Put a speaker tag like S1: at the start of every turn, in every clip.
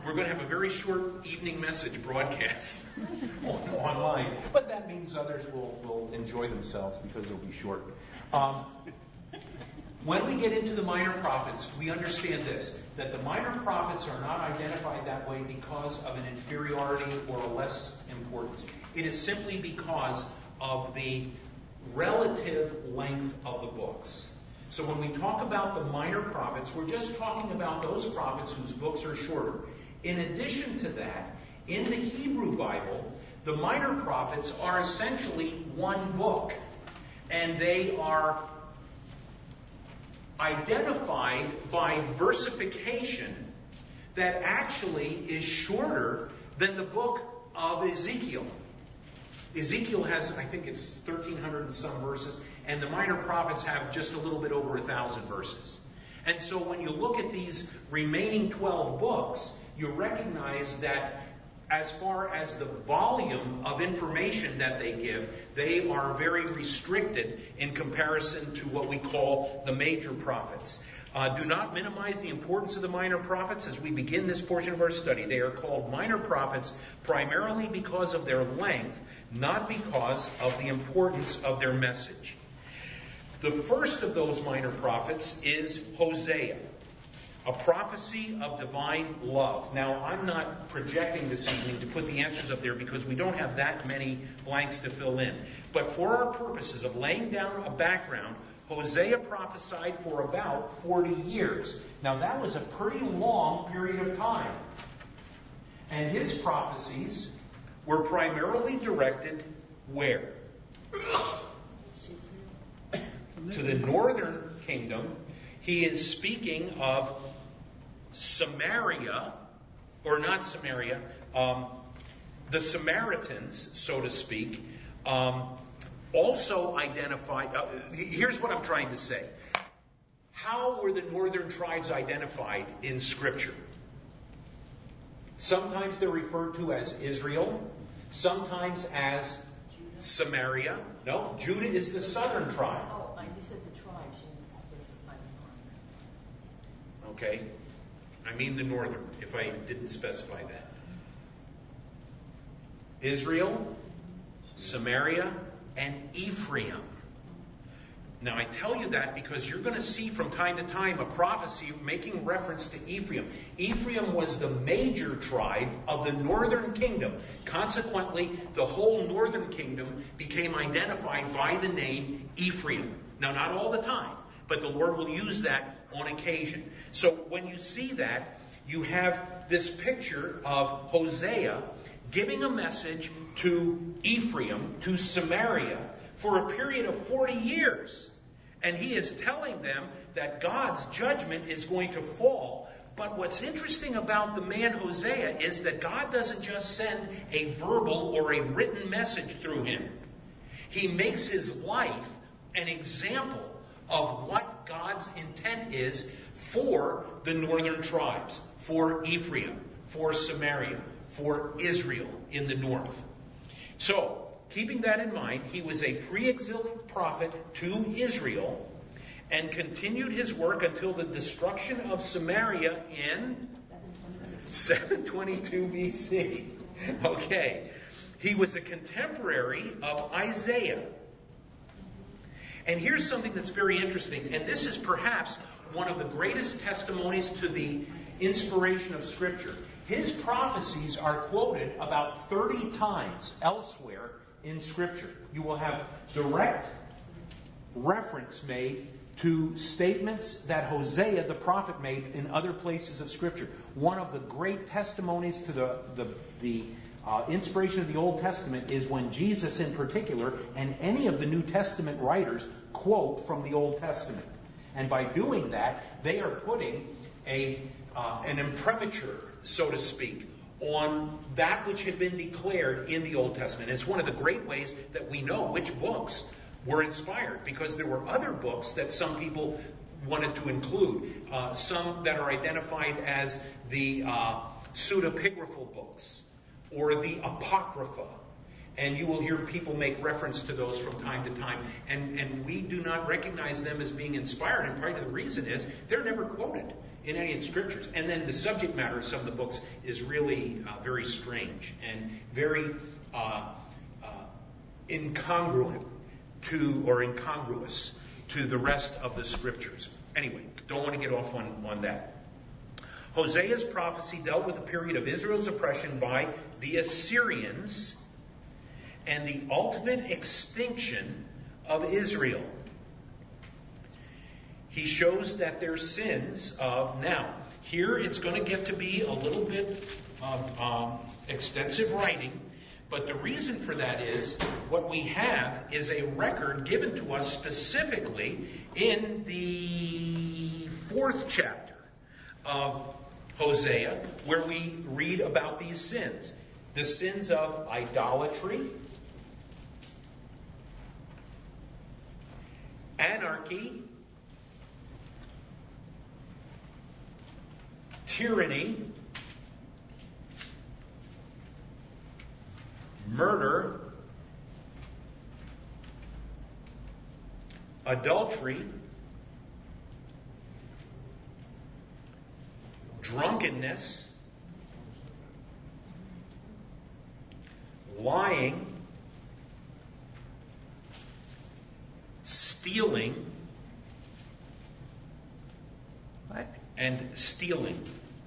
S1: we're going to have a very short evening message broadcast online. But that means others will enjoy themselves because it'll be short. When we get into the minor prophets, we understand this, that the minor prophets are not identified that way because of an inferiority or a less importance. It is simply because of the relative length of the books. So when we talk about the minor prophets, we're just talking about those prophets whose books are shorter. In addition to that, in the Hebrew Bible, the minor prophets are essentially one book. And they are identified by versification that actually is shorter than the book of Ezekiel. Ezekiel has, I think it's 1,300 and some verses, and the minor prophets have just a little bit over 1,000 verses. And so when you look at these remaining 12 books, you recognize that as far as the volume of information that they give, they are very restricted in comparison to what we call the major prophets. Do not minimize the importance of the minor prophets as we begin this portion of our study. They are called minor prophets primarily because of their length, not because of the importance of their message. The first of those minor prophets is Hosea, a prophecy of divine love. Now, I'm not projecting this evening to put the answers up there because we don't have that many blanks to fill in. But for our purposes of laying down a background, Hosea prophesied for about 40 years. Now, that was a pretty long period of time. And his prophecies were primarily directed where? To the northern kingdom. He is speaking of Samaria, or not Samaria, the Samaritans, so to speak, also identified. Here's what I'm trying to say. How were the northern tribes identified in Scripture? Sometimes they're referred to as Israel, sometimes as Samaria. No, Judah is the southern tribe.
S2: Oh, you said the tribes.
S1: Okay. I mean the northern, if I didn't specify that. Israel, Samaria, and Ephraim. Now I tell you that because you're going to see from time to time a prophecy making reference to Ephraim. Ephraim was the major tribe of the northern kingdom. Consequently, the whole northern kingdom became identified by the name Ephraim. Now not all the time, but the Lord will use that on occasion. So when you see that, you have this picture of Hosea giving a message to Ephraim, to Samaria, for a period of 40 years. And he is telling them that God's judgment is going to fall. But what's interesting about the man Hosea is that God doesn't just send a verbal or a written message through him. He makes his life an example of what God's intent is for the northern tribes, for Ephraim, for Samaria, for Israel in the north. So, keeping that in mind, he was a pre-exilic prophet to Israel and continued his work until the destruction of Samaria in 722 BC. Okay. He was a contemporary of Isaiah. And here's something that's very interesting, and this is perhaps one of the greatest testimonies to the inspiration of Scripture. His prophecies are quoted about 30 times elsewhere in Scripture. You will have direct reference made to statements that Hosea the prophet made in other places of Scripture. One of the great testimonies to the inspiration of the Old Testament is when Jesus in particular and any of the New Testament writers quote from the Old Testament. And by doing that, they are putting an imprimatur, so to speak, on that which had been declared in the Old Testament. It's one of the great ways that we know which books were inspired, because there were other books that some people wanted to include, some that are identified as the pseudepigraphal books or the Apocrypha. And you will hear people make reference to those from time to time. And we do not recognize them as being inspired. And part of the reason is they're never quoted in any of the scriptures. And then the subject matter of some of the books is really very strange and very incongruent or incongruous to the rest of the scriptures. Anyway, don't want to get off on that. Hosea's prophecy dealt with a period of Israel's oppression by the Assyrians and the ultimate extinction of Israel. He shows that their sins of... Now, here it's going to get to be a little bit of extensive writing, but the reason for that is what we have is a record given to us specifically in the 4th chapter of Hosea, where we read about these sins. The sins of idolatry, anarchy, tyranny, murder, adultery, drunkenness, lying, stealing, and stealing.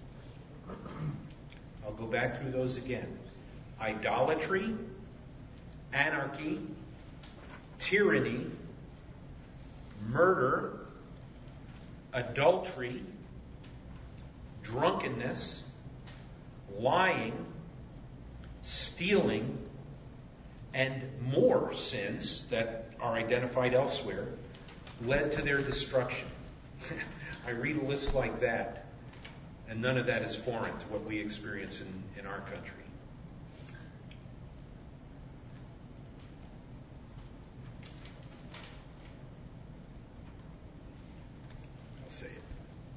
S1: I'll go back through those again. Idolatry, anarchy, tyranny, murder, adultery, drunkenness, lying, stealing, and more sins that are identified elsewhere led to their destruction. I read a list like that, and none of that is foreign to what we experience in our country. I'll say it.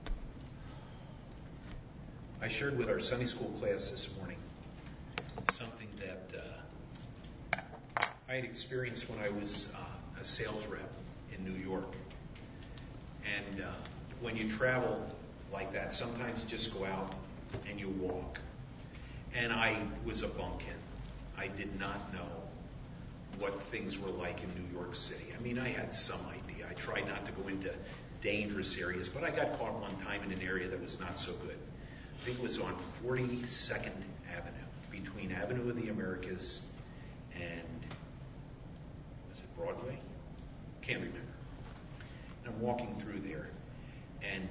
S1: I shared with our Sunday school class this morning something that I had experienced when I was a sales rep in New York. And when you travel like that, sometimes you just go out and you walk. And I was a bumpkin. I did not know what things were like in New York City. I mean, I had some idea. I tried not to go into dangerous areas, but I got caught one time in an area that was not so good. I think it was on 42nd Avenue, between Avenue of the Americas and, was it Broadway? Can't remember. And I'm walking through there, and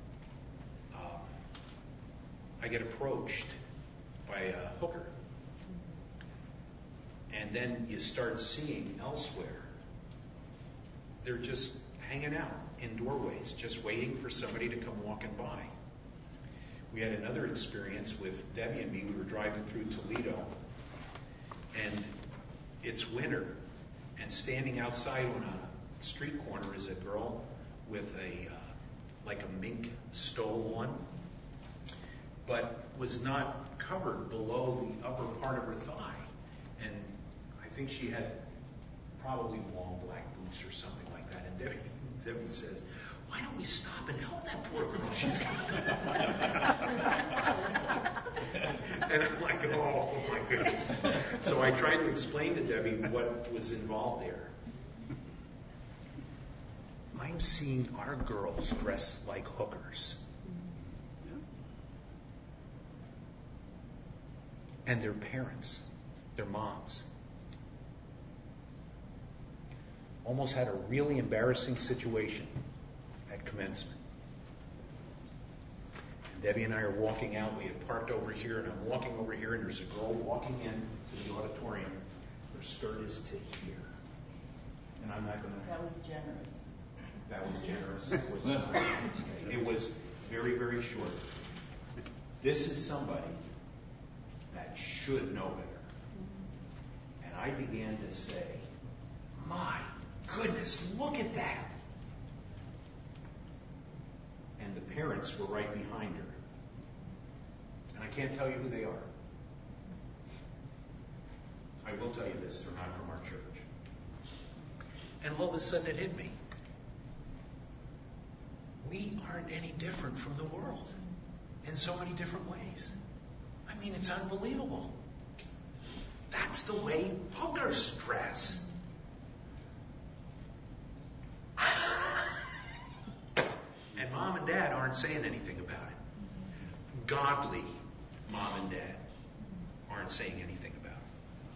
S1: I get approached by a hooker. And then you start seeing elsewhere, they're just hanging out in doorways, just waiting for somebody to come walking by. We had another experience with Debbie and me. We were driving through Toledo, and it's winter, and standing outside on a street corner is a girl with like a mink stole on, but was not covered below the upper part of her thigh. And I think she had probably long black boots or something like that. And Debbie says, "Why don't we stop and help that poor girl? She's got..." And I'm like, oh my goodness. So I tried to explain to Debbie what was involved there. I'm seeing our girls dress like hookers. And their parents, their moms. Almost had a really embarrassing situation at commencement. And Debbie and I are walking out. We had parked over here, and I'm walking over here, and there's a girl walking in to the auditorium. Her skirt is to here. And I'm not going to...
S2: That was generous.
S1: That was generous. It was not. It was very, very short. This is somebody that should know better. And I began to say, my goodness, look at that. And the parents were right behind her. And I can't tell you who they are. I will tell you this, they're not from our church. And all of a sudden it hit me. we aren't any different from the world in so many different ways. I mean, it's unbelievable. That's the way hookers dress. And mom and dad aren't saying anything about it. Godly mom and dad aren't saying anything about it.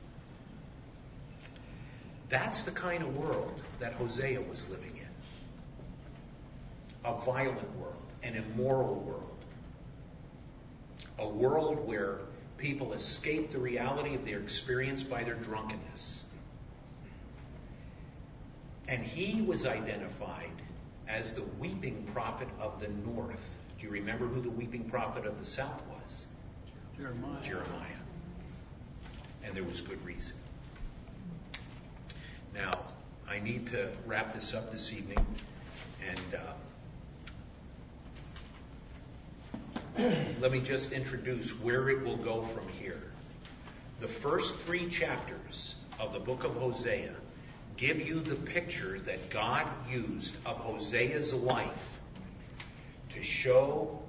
S1: That's the kind of world that Hosea was living in. A violent world, an immoral world. A world where people escape the reality of their experience by their drunkenness. And he was identified as the weeping prophet of the north. Do you remember who the weeping prophet of the south was? Jeremiah. And there was good reason. Now, I need to wrap this up this evening, and let me just introduce where it will go from here. The first 3 chapters of the book of Hosea give you the picture that God used of Hosea's life to show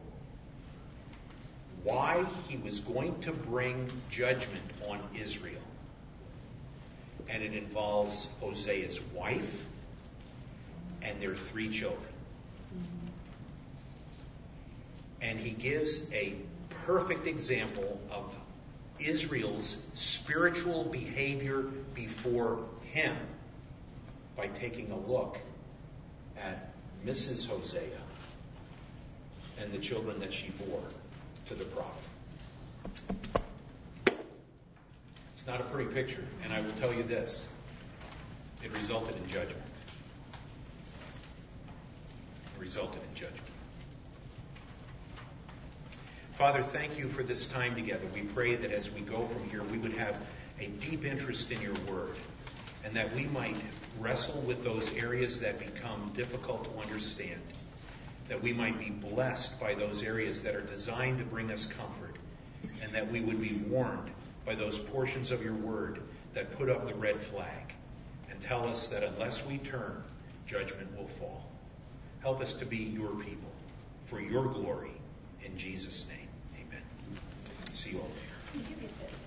S1: why he was going to bring judgment on Israel. And it involves Hosea's wife and their 3 children. And he gives a perfect example of Israel's spiritual behavior before him by taking a look at Mrs. Hosea and the children that she bore to the prophet. It's not a pretty picture, and I will tell you this. It resulted in judgment. It resulted in judgment. Father, thank you for this time together. We pray that as we go from here, we would have a deep interest in your word, and that we might wrestle with those areas that become difficult to understand, that we might be blessed by those areas that are designed to bring us comfort, and that we would be warned by those portions of your word that put up the red flag and tell us that unless we turn, judgment will fall. Help us to be your people for your glory. In Jesus' name, amen. See you all later.